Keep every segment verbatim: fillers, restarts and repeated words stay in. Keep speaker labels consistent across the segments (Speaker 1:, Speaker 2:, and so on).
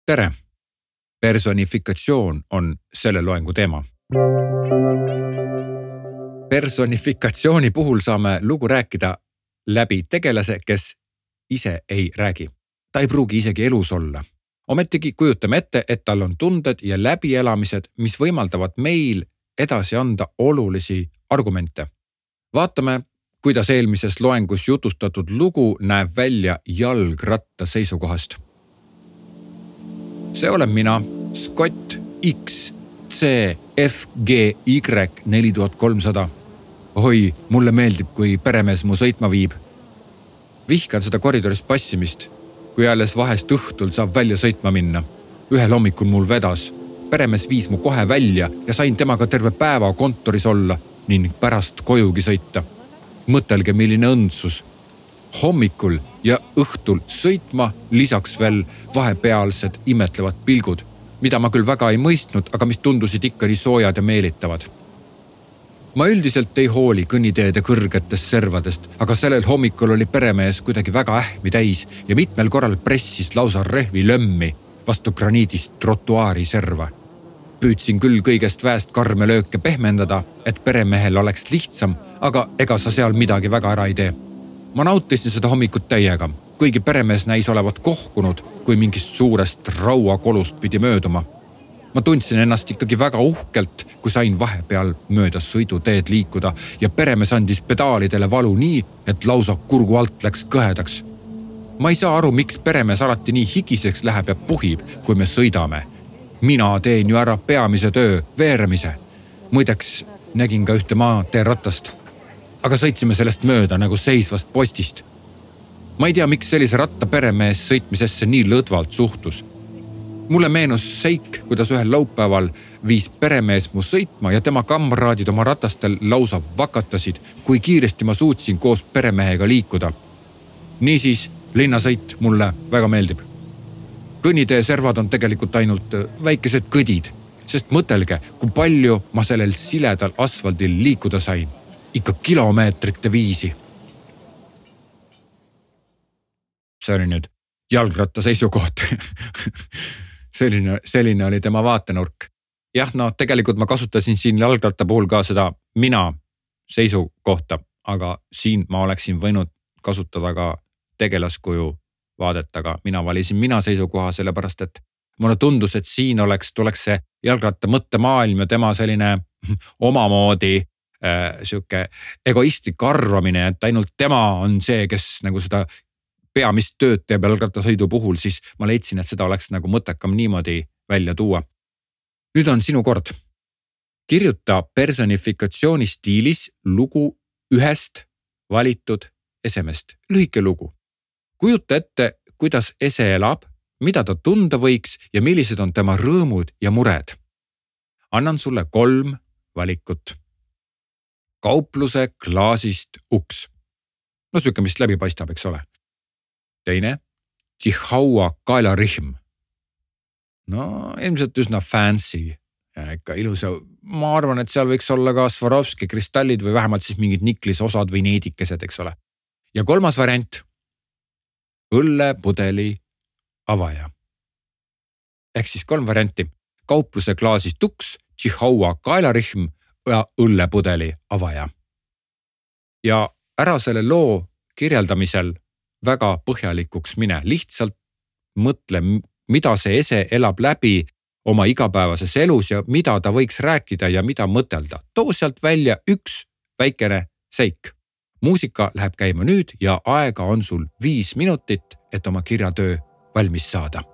Speaker 1: Tere! Personifikatsioon on selle loengu teema. Personifikatsiooni puhul saame lugu rääkida läbi tegelase, kes ise ei räägi. Ta ei pruugi isegi elus olla. Ometigi kujutame ette, et tal on tunded ja läbielamised, mis võimaldavad meil edasi anda olulisi argumente. Vaatame, kuidas eelmises loengus jutustatud lugu näeb välja jalgratta seisukohast. See olen mina, Scott X C F G Y neli tuhat kolmsada. Oi, mulle meeldib, kui peremees mu sõitma viib. Vihkan seda koridoris passimist, kui alles vahest õhtul saab välja sõitma minna. Ühel hommikul mul vedas. Peremees viis mu kohe välja ja sain temaga terve päeva kontoris olla ning pärast kojugi sõita. Mõtelge, milline õndsus. Hommikul ja õhtul sõitma lisaks veel vahepealsed imetlevad pilgud, mida ma küll väga ei mõistnud, aga mis tundusid ikka nii soojad ja meelitavad. Ma üldiselt ei hooli kõnniteede kõrgetest servadest, aga sellel hommikul oli peremees kuidagi väga ähmi täis ja mitmel korral pressis lausa rehvi lömmi vastu graniidist trotuaari serva. Püüdsin küll kõigest väest karme lööke pehmendada, et peremehel oleks lihtsam, aga ega sa seal midagi väga ära ei tee. Ma nautisin seda hommikut täiega, kuigi peremees näis olevat kohkunud, kui mingist suurest rauakolust pidi mööduma. Ma tundsin ennast ikkagi väga uhkelt, kui sain vahepeal mööda sõiduteed liikuda ja peremees andis pedaalidele valu nii, et lausa kurgu alt läks kõhedaks. Ma ei saa aru, miks peremees alati nii higiseks läheb ja puhib, kui me sõidame. Mina teen ju ära peamise töö, veeremise. Muideks nägin ka ühte maatee ratast. Aga sõitsime sellest mööda nagu seisvast postist. Ma ei tea, miks sellise ratta peremees sõitmisesse nii lõdvalt suhtus. Mulle meenus seik, kuidas ühel laupäeval viis peremees mu sõitma ja tema kamraadid oma ratastel lausa vakatasid, kui kiiresti ma suutsin koos peremehega liikuda. Niisiis, linnasõit mulle väga meeldib. Kõnnitee servad on tegelikult ainult väikesed kõdid, sest mõtelge, kui palju ma sellel siledal asfaldil liikuda sain. Ikka kilomeetrite viisi. See oli nüüd jalgratta seisukoht. selline, selline oli tema vaatenurk. Jah, no tegelikult ma kasutasin siin jalgratta puhul ka seda mina seisukohta, aga siin ma oleksin võinud kasutada ka tegelaskuju vaadet, aga mina valisin mina seisukoha, sellepärast et mulle tundus, et siin oleks, tuleks see jalgratta mõttemaailm ja tema selline omamoodi Äh, siuke egoistlik arvamine, et ainult tema on see, kes nagu seda peamist tööd teeb jalgrattasõidu puhul, siis ma leidsin, et seda oleks nagu mõttekam niimoodi välja tuua. Nüüd on sinu kord. Kirjuta personifikatsiooni stiilis lugu ühest valitud esemest. Lühike lugu. Kujuta ette, kuidas ese elab, mida ta tunda võiks ja millised on tema rõõmud ja mured. Annan sulle kolm valikut. Kaupluse klaasist uks. No süke, mis läbi paistab, eks ole. Teine, Chihuahua kaelarihm. No ilmselt üsna fancy ja ikka ilus. Ma arvan, et seal võiks olla ka Swarovski kristallid või vähemalt siis mingid niklisosad või needikesed, eks ole. Ja kolmas variant, õllepudeli avaja. Ehk siis kolm varianti. Kaupluse klaasist uks, Chihuahua kaelarihm ja õllepudeli avaja. Ja ära selle loo kirjeldamisel väga põhjalikuks mine. Lihtsalt mõtle, mida see ese elab läbi oma igapäevases elus ja mida ta võiks rääkida ja mida mõtelda. Too sealt välja üks väikene seik. Muusika läheb käima nüüd ja aega on sul viis minutit, et oma kirjatöö valmis saada.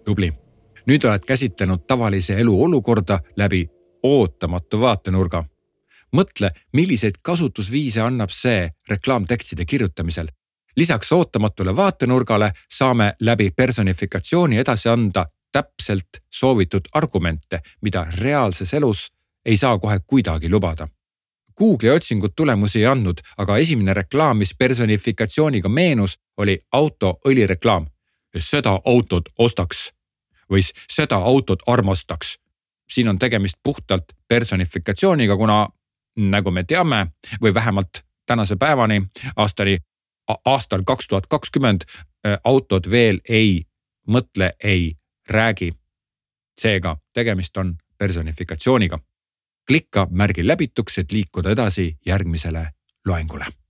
Speaker 1: Tubli. Nüüd oled käsitlenud tavalise elu olukorda läbi ootamatu vaatenurga. Mõtle, milliseid kasutusviise annab see reklaamtekstide kirjutamisel. Lisaks ootamatule vaatenurgale saame läbi personifikatsiooni edasi anda täpselt soovitud argumente, mida reaalses elus ei saa kohe kuidagi lubada. Google'i otsingud tulemusi ei andnud, aga esimene reklaam, mis personifikatsiooniga meenus, oli auto õlireklaam. Seda autot ostaks või seda autot armastaks. Siin on tegemist puhtalt personifikatsiooniga, kuna nagu me teame või vähemalt tänase päevani aastani, aastal kaks tuhat kakskümmend autod veel ei mõtle, ei räägi. Seega tegemist on personifikatsiooniga. Klikka märgi läbituks, et liikuda edasi järgmisele loengule.